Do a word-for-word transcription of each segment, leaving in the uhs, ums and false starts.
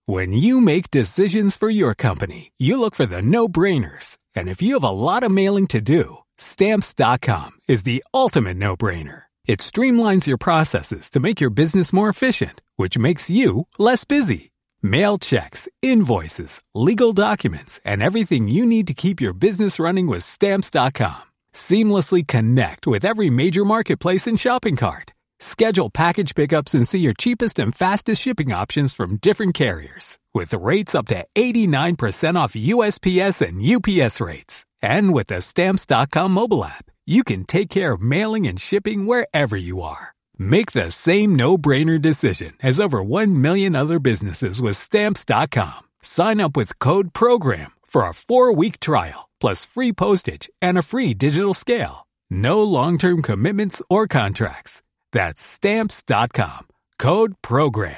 When you make decisions for your company, you look for the no-brainers. And if you have a lot of mailing to do, Stamps dot com is the ultimate no-brainer. It streamlines your processes to make your business more efficient, which makes you less busy. Mail checks, invoices, legal documents, and everything you need to keep your business running with Stamps dot com. Seamlessly connect with every major marketplace and shopping cart. Schedule package pickups and see your cheapest and fastest shipping options from different carriers. With rates up to eighty-nine percent off U S P S and U P S rates. And with the Stamps dot com mobile app, you can take care of mailing and shipping wherever you are. Make the same no-brainer decision as over one million other businesses with Stamps dot com. Sign up with code PROGRAM for a four-week trial, plus free postage and a free digital scale. No long-term commitments or contracts. That's Stamps dot com. Code PROGRAM.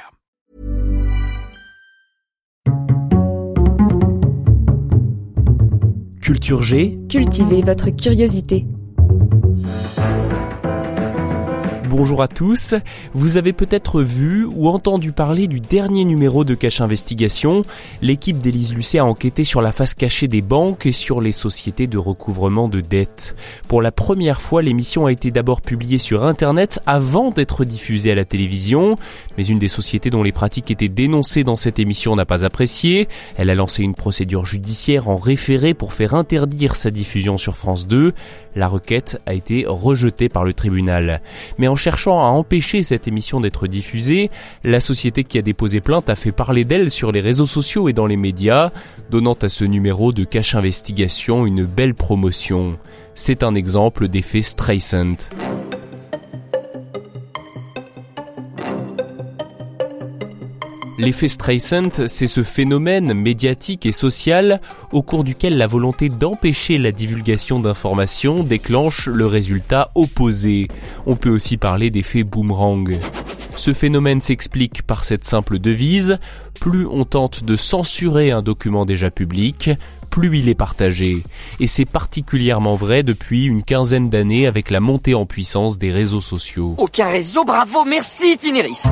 Culture G. Cultivez votre curiosité. Bonjour à tous, vous avez peut-être vu ou entendu parler du dernier numéro de Cache Investigation. L'équipe d'Élise Lucet a enquêté sur la face cachée des banques et sur les sociétés de recouvrement de dettes. Pour la première fois, l'émission a été d'abord publiée sur Internet avant d'être diffusée à la télévision. Mais une des sociétés dont les pratiques étaient dénoncées dans cette émission n'a pas apprécié. Elle a lancé une procédure judiciaire en référé pour faire interdire sa diffusion sur France deux. La requête a été rejetée par le tribunal. Mais en cherchant à empêcher cette émission d'être diffusée, la société qui a déposé plainte a fait parler d'elle sur les réseaux sociaux et dans les médias, donnant à ce numéro de Cache Investigation une belle promotion. C'est un exemple d'effet Streisand. L'effet Streisand, c'est ce phénomène médiatique et social au cours duquel la volonté d'empêcher la divulgation d'informations déclenche le résultat opposé. On peut aussi parler d'effet boomerang. Ce phénomène s'explique par cette simple devise, plus on tente de censurer un document déjà public, plus il est partagé. Et c'est particulièrement vrai depuis une quinzaine d'années avec la montée en puissance des réseaux sociaux. Aucun réseau, bravo, merci Tineris.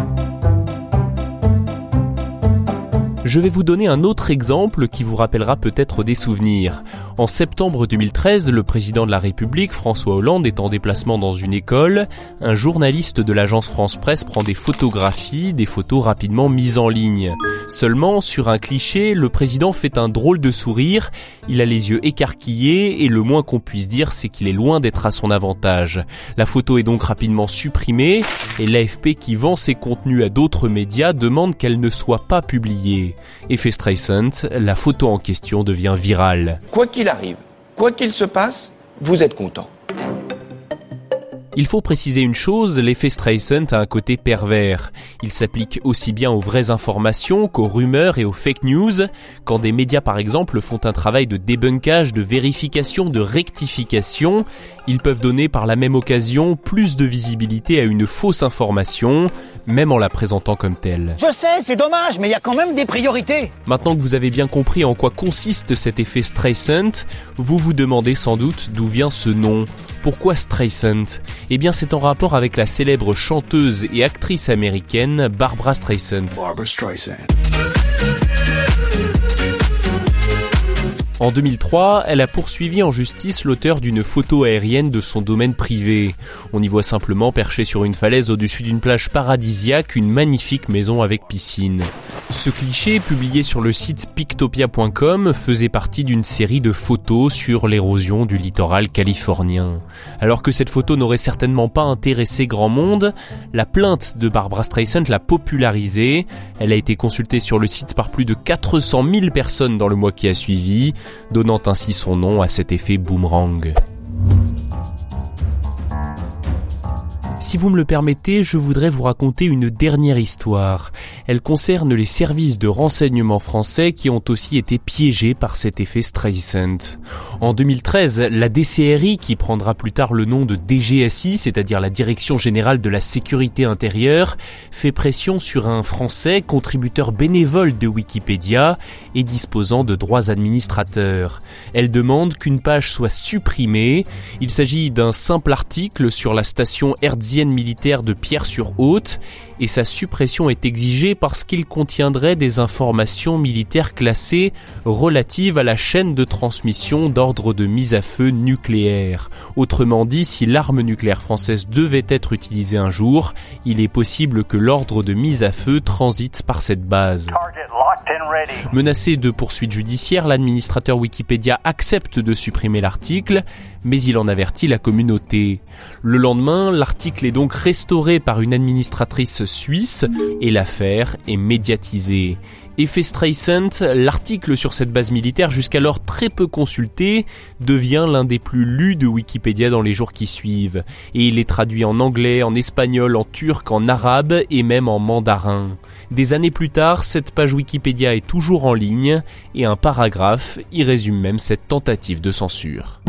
Je vais vous donner un autre exemple qui vous rappellera peut-être des souvenirs. En septembre deux mille treize, le président de la République, François Hollande, est en déplacement dans une école. Un journaliste de l'agence France Presse prend des photographies, des photos rapidement mises en ligne. Seulement, sur un cliché, le président fait un drôle de sourire. Il a les yeux écarquillés et le moins qu'on puisse dire, c'est qu'il est loin d'être à son avantage. La photo est donc rapidement supprimée et l'A F P, qui vend ses contenus à d'autres médias, demande qu'elle ne soit pas publiée. Effet Streisand, la photo en question devient virale. Quoi qu'il arrive, quoi qu'il se passe, vous êtes content. Il faut préciser une chose, l'effet Streisand a un côté pervers. Il s'applique aussi bien aux vraies informations qu'aux rumeurs et aux fake news. Quand des médias par exemple font un travail de débunkage, de vérification, de rectification, ils peuvent donner par la même occasion plus de visibilité à une fausse information, même en la présentant comme telle. Je sais, c'est dommage, mais il y a quand même des priorités. Maintenant que vous avez bien compris en quoi consiste cet effet Streisand, vous vous demandez sans doute d'où vient ce nom. Pourquoi Streisand ? Eh bien, c'est en rapport avec la célèbre chanteuse et actrice américaine Barbra Streisand. Barbra Streisand. En deux mille trois, elle a poursuivi en justice l'auteur d'une photo aérienne de son domaine privé. On y voit simplement perché sur une falaise au-dessus d'une plage paradisiaque une magnifique maison avec piscine. Ce cliché, publié sur le site pictopia point com, faisait partie d'une série de photos sur l'érosion du littoral californien. Alors que cette photo n'aurait certainement pas intéressé grand monde, la plainte de Barbra Streisand l'a popularisée. Elle a été consultée sur le site par plus de quatre cent mille personnes dans le mois qui a suivi, donnant ainsi son nom à cet effet boomerang. Si vous me le permettez, je voudrais vous raconter une dernière histoire. Elle concerne les services de renseignement français qui ont aussi été piégés par cet effet Streisand. En deux mille treize, la D C R I, qui prendra plus tard le nom de D G S I, c'est-à-dire la Direction Générale de la Sécurité Intérieure, fait pression sur un Français, contributeur bénévole de Wikipédia et disposant de droits administrateurs. Elle demande qu'une page soit supprimée. Il s'agit d'un simple article sur la station hertzienne militaire de Pierre-sur-Haute et sa suppression est exigée parce qu'il contiendrait des informations militaires classées relatives à la chaîne de transmission d'ordre de mise à feu nucléaire. Autrement dit, si l'arme nucléaire française devait être utilisée un jour, il est possible que l'ordre de mise à feu transite par cette base. Menacé de poursuites judiciaires, l'administrateur Wikipédia accepte de supprimer l'article, mais il en avertit la communauté. Le lendemain, l'article est donc restauré par une administratrice suisse et l'affaire est médiatisée. Effet Streisand, l'article sur cette base militaire jusqu'alors très peu consulté devient l'un des plus lus de Wikipédia dans les jours qui suivent. Et il est traduit en anglais, en espagnol, en turc, en arabe et même en mandarin. Des années plus tard, cette page Wikipédia est toujours en ligne et un paragraphe y résume même cette tentative de censure.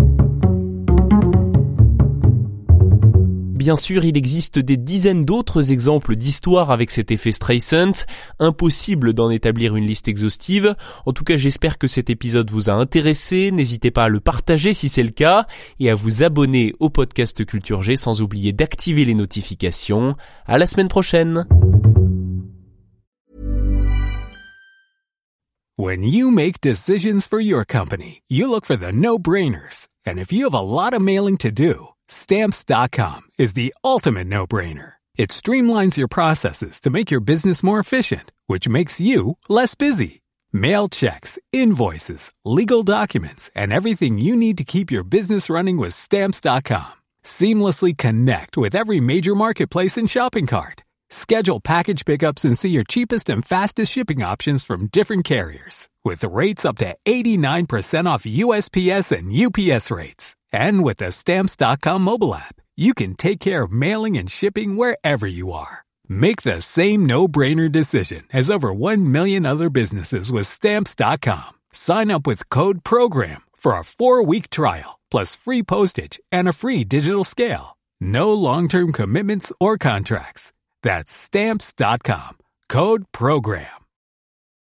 Bien sûr, il existe des dizaines d'autres exemples d'histoires avec cet effet Streisand. Impossible d'en établir une liste exhaustive. En tout cas, j'espère que cet épisode vous a intéressé. N'hésitez pas à le partager si c'est le cas et à vous abonner au podcast Culture G sans oublier d'activer les notifications. À la semaine prochaine. When you make decisions for your company, you look for the no-brainers. And if you have a lot of mailing to do, Stamps dot com is the ultimate no-brainer. It streamlines your processes to make your business more efficient, which makes you less busy. Mail checks, invoices, legal documents, and everything you need to keep your business running with Stamps dot com. Seamlessly connect with every major marketplace and shopping cart. Schedule package pickups and see your cheapest and fastest shipping options from different carriers, with rates up to eighty-nine percent off U S P S and U P S rates. And with the Stamps dot com mobile app, you can take care of mailing and shipping wherever you are. Make the same no-brainer decision as over one million other businesses with Stamps dot com. Sign up with code PROGRAM for a four-week trial, plus free postage and a free digital scale. No long-term commitments or contracts. That's Stamps dot com. Code PROGRAM.